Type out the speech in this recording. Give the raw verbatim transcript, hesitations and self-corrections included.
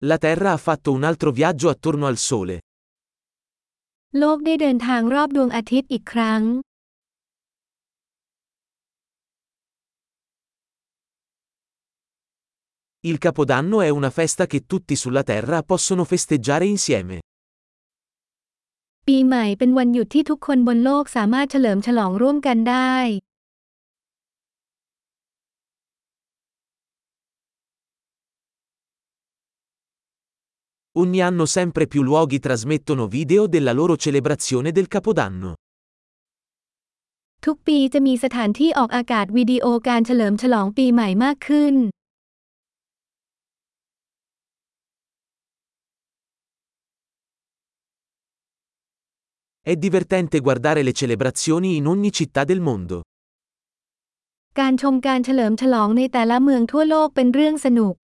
La Terra ha fatto un altro viaggio attorno al Sole. โลกได้เดินทางรอบดวงอาทิตย์อีกครั้ง Il Capodanno è una festa che tutti sulla Terra possono festeggiare insieme. ปีใหม่เป็นวันหยุดที่ทุกคนบนโลกสามารถเฉลิมฉลองร่วมกันได้ Ogni anno sempre più luoghi trasmettono video della loro celebrazione del Capodanno. ทุกปีจะมีสถานที่ออกอากาศวิดีโอการเฉลิมฉลองปีใหม่มากขึ้น È divertente guardare le celebrazioni in ogni città del mondo. การชมการเฉลิมฉลองในแต่ละเมืองทั่วโลกเป็นเรื่องสนุก